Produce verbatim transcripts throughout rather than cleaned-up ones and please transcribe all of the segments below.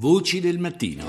Voci del mattino.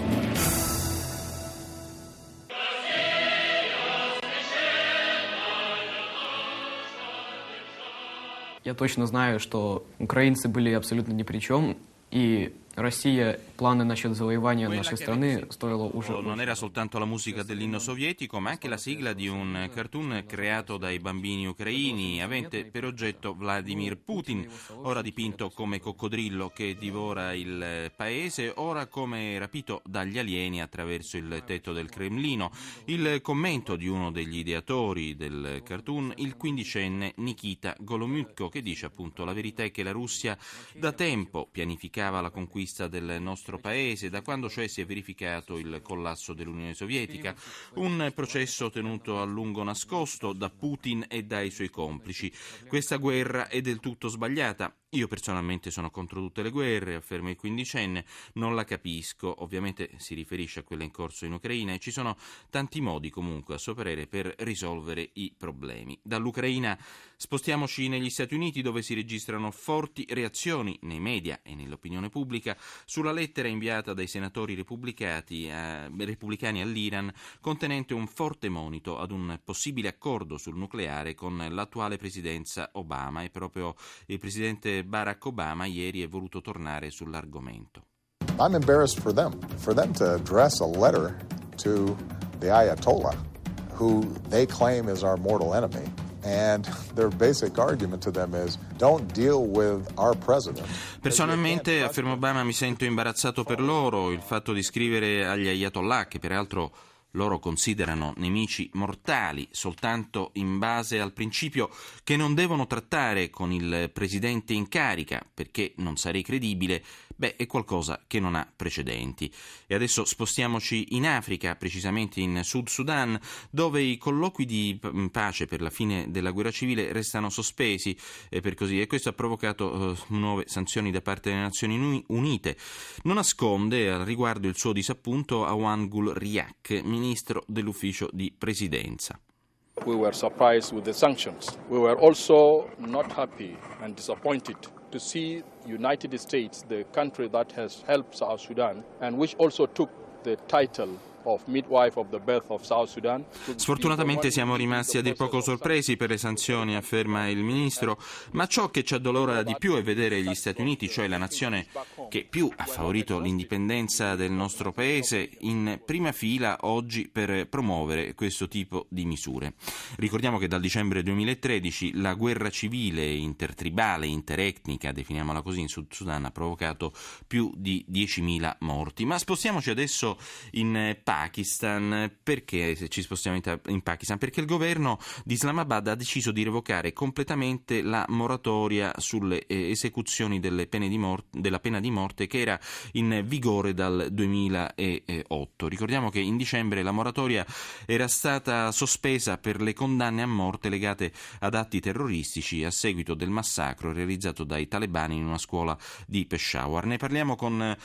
Я точно знаю, что украинцы были абсолютно ни при чем, и Россия планы насчет завоевания нашей страны строила уже... Non era soltanto la musica dell'inno sovietico, ma anche la sigla di un cartoon creato dai bambini ucraini, avente per oggetto Vladimir Putin, ora dipinto come coccodrillo che divora il paese, ora come rapito dagli alieni attraverso il tetto del Cremlino. Il commento di uno degli ideatori del cartoon, il quindicenne Nikita Golomyko, che dice appunto: la verità è che la Russia da tempo pianificava la conquista del nostro paese, da quando cioè si è verificato il collasso dell'Unione Sovietica, un processo tenuto a lungo nascosto da Putin e dai suoi complici. Questa guerra è del tutto sbagliata. Io personalmente sono contro tutte le guerre, afferma il quindicenne, non la capisco, ovviamente si riferisce a quella in corso in Ucraina, e ci sono tanti modi comunque a suo parere per risolvere i problemi. Dall'Ucraina spostiamoci negli Stati Uniti, dove si registrano forti reazioni nei media e nell'opinione pubblica sulla lettera inviata dai senatori repubblicani, eh, repubblicani all'Iran, contenente un forte monito ad un possibile accordo sul nucleare con l'attuale presidenza Obama, e proprio il presidente Barack Obama ieri è voluto tornare sull'argomento. I'm embarrassed for them, for them to address a letter to the Ayatollah, who they claim is our mortal enemy. And their basic argument to them is don't deal with our president. Personalmente, afferma Obama, mi sento imbarazzato per loro. Il fatto di scrivere agli Ayatollah, che peraltro loro considerano nemici mortali, soltanto in base al principio che non devono trattare con il presidente in carica perché non sarei credibile, beh, è qualcosa che non ha precedenti. E adesso spostiamoci in Africa, precisamente in Sud Sudan, dove i colloqui di pace per la fine della guerra civile restano sospesi, e per così, e questo ha provocato uh, nuove sanzioni da parte delle Nazioni Unite. Non nasconde al riguardo il suo disappunto Awan Gul Riak, ministro dell'ufficio di presidenza. We were surprised with the sanctions. We were also not happy and disappointed to see United States, the country that has helped South Sudan and which also took the title of midwife of the birth of South Sudan. Sfortunatamente siamo rimasti a dir poco sorpresi per le sanzioni, afferma il ministro, ma ciò che ci addolora di più è vedere gli Stati Uniti, cioè la nazione che più ha favorito l'indipendenza del nostro paese, in prima fila oggi per promuovere questo tipo di misure. Ricordiamo che dal dicembre duemilatredici la guerra civile intertribale, interetnica, definiamola così, in Sud Sudan ha provocato più di diecimila morti. Ma spostiamoci adesso in Pakistan. Perché se ci spostiamo in Pakistan? Perché il governo di Islamabad ha deciso di revocare completamente la moratoria sulle esecuzioni delle pene di morte, della pena di morte, che era in vigore dal duemilaotto. Ricordiamo che in dicembre la moratoria era stata sospesa per le condanne a morte legate ad atti terroristici a seguito del massacro realizzato dai talebani in una scuola di Peshawar. Ne parliamo con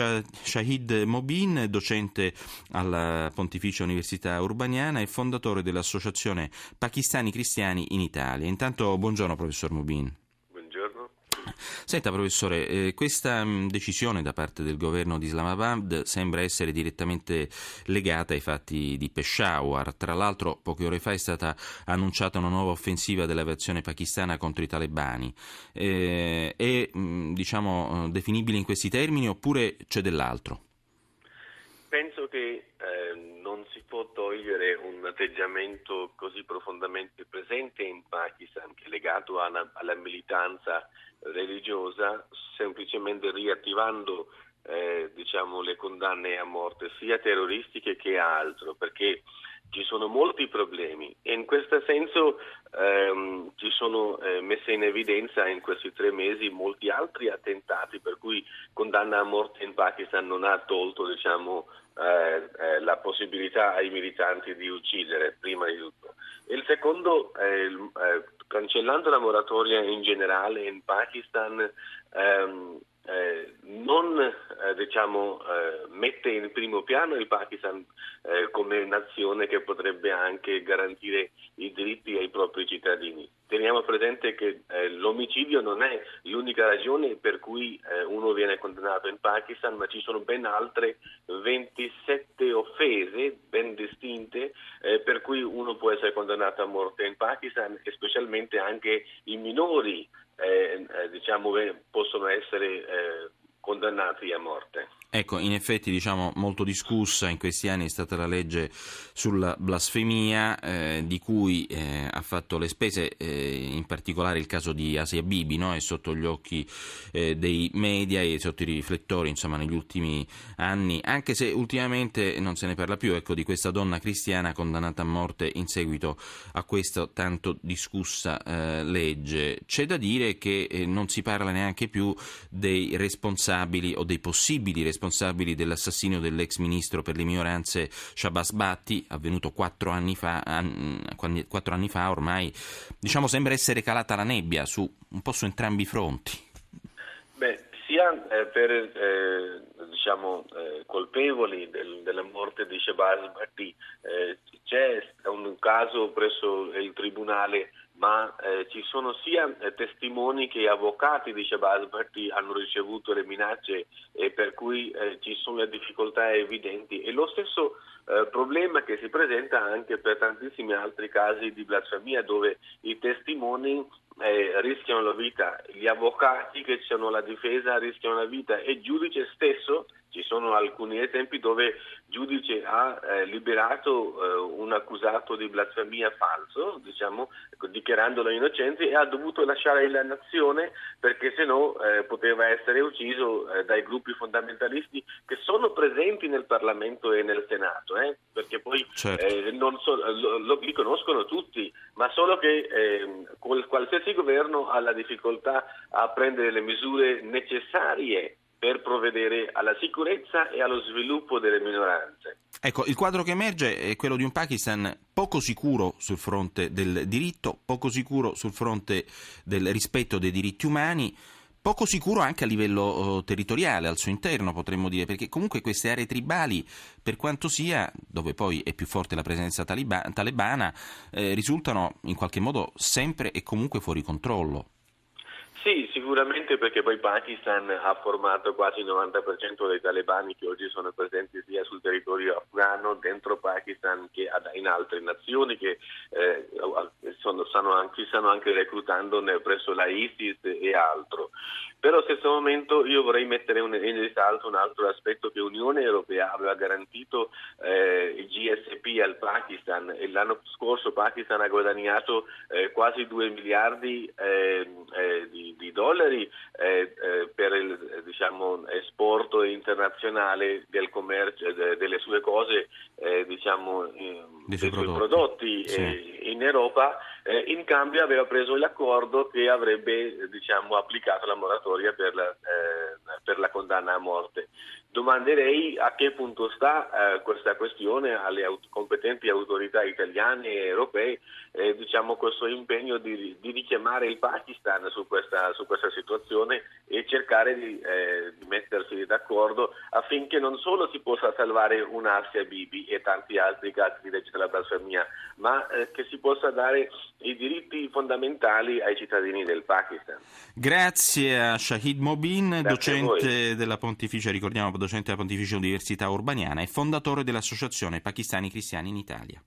Shahid Mobin, docente alla Pontificia Università Urbaniana e fondatore dell'Associazione Pakistani Cristiani in Italia. Intanto, buongiorno professor Mubin. Buongiorno. Senta professore, eh, questa mh, decisione da parte del governo di Islamabad sembra essere direttamente legata ai fatti di Peshawar. Tra l'altro, poche ore fa è stata annunciata una nuova offensiva dell'aviazione pakistana contro i talebani. Eh, è mh, diciamo definibile in questi termini oppure c'è dell'altro? Penso che eh, non si può togliere un atteggiamento così profondamente presente in Pakistan, che è legato alla, alla militanza religiosa, semplicemente riattivando eh, diciamo, le condanne a morte, sia terroristiche che altro, perché ci sono molti problemi e in questo senso ehm, ci sono eh, messe in evidenza in questi tre mesi molti altri attentati, per cui condanna a morte in Pakistan non ha tolto diciamo, eh, eh, la possibilità ai militanti di uccidere, prima di tutto. E il secondo, eh, il, eh, cancellando la moratoria in generale in Pakistan, ehm, Eh, non eh, diciamo eh, mette in primo piano il Pakistan eh, come nazione che potrebbe anche garantire i diritti ai propri cittadini. teniamo presente che eh, l'omicidio non è l'unica ragione per cui eh, uno viene condannato in Pakistan, ma ci sono ben altre ventisette offese ben distinte eh, per cui uno può essere condannato a morte in Pakistan, e specialmente anche i minori eh, eh, diciamo possono essere eh, condannati a morte. Ecco, in effetti diciamo molto discussa in questi anni è stata la legge sulla blasfemia, eh, di cui eh, ha fatto le spese, eh, in particolare il caso di Asia Bibi, no? È sotto gli occhi eh, dei media e sotto i riflettori, insomma, negli ultimi anni, anche se ultimamente non se ne parla più, ecco, di questa donna cristiana condannata a morte in seguito a questa tanto discussa eh, legge. C'è da dire che eh, non si parla neanche più dei responsabili o dei possibili responsabili dell'assassinio dell'ex ministro per le minoranze Shahbaz Bhatti, avvenuto quattro anni fa, quattro anni fa ormai. Diciamo sembra essere calata la nebbia su un po' su entrambi i fronti. Beh, sia eh, per eh, diciamo eh, colpevoli del, della morte di Shahbaz Bhatti eh, c'è un caso presso il tribunale, ma eh, ci sono sia eh, testimoni che avvocati di Shahbaz Bhatti hanno ricevuto le minacce, e per cui eh, ci sono le difficoltà evidenti, e lo stesso eh, problema che si presenta anche per tantissimi altri casi di blasfemia, dove i testimoni eh, rischiano la vita, gli avvocati che c'hanno la difesa rischiano la vita, e il giudice stesso. Ci sono alcuni esempi dove il giudice ha eh, liberato eh, un accusato di blasfemia falso, diciamo, dichiarandolo innocente, e ha dovuto lasciare la nazione perché sennò eh, poteva essere ucciso eh, dai gruppi fondamentalisti che sono presenti nel Parlamento e nel Senato, eh, perché poi certo. eh, non so, lo, lo, li conoscono tutti, ma solo che eh, qualsiasi governo ha la difficoltà a prendere le misure necessarie per provvedere alla sicurezza e allo sviluppo delle minoranze. Ecco, il quadro che emerge è quello di un Pakistan poco sicuro sul fronte del diritto, poco sicuro sul fronte del rispetto dei diritti umani, poco sicuro anche a livello uh, territoriale, al suo interno potremmo dire, perché comunque queste aree tribali, per quanto sia, dove poi è più forte la presenza taliba- talebana, eh, risultano in qualche modo sempre e comunque fuori controllo. Sì, sicuramente, perché poi Pakistan ha formato quasi il novanta per cento dei talebani che oggi sono presenti sia sul territorio afghano, dentro Pakistan, che in altre nazioni che eh, sono, stanno, anche, stanno anche reclutando presso la ISIS e altro. Però allo stesso momento io vorrei mettere un, in risalto un altro aspetto, che l'Unione Europea aveva garantito eh, il G S P al Pakistan, e l'anno scorso Pakistan ha guadagnato eh, quasi due miliardi eh, eh, di, di dollari eh, eh, per il diciamo esporto internazionale del commercio de, delle sue cose eh, diciamo eh, dei suoi prodotti, prodotti sì. eh, in Europa. Eh, in cambio aveva preso l'accordo che avrebbe diciamo applicato la moratoria per la, eh, per la condanna a morte. Domanderei a che punto sta eh, questa questione alle aut- competenti autorità italiane e europee, eh, diciamo questo impegno di, di richiamare il Pakistan su questa, su questa situazione e cercare di, eh, di mettersi d'accordo affinché non solo si possa salvare un Asia Bibi e tanti altri casi di legge della blasfemia, ma eh, che si possa dare i diritti fondamentali ai cittadini del Pakistan. Grazie a Shahid Mobin, Grazie docente della Pontificia, ricordiamo, docente della Pontificia Università Urbaniana e fondatore dell'Associazione Pakistani Cristiani in Italia.